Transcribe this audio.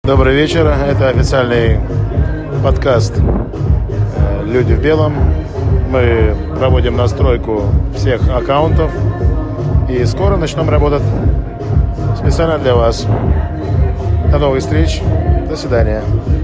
Добрый вечер. Это официальный подкаст «Люди в белом». Мы проводим настройку всех аккаунтов и скоро начнем работать специально для вас. До новых встреч. До свидания.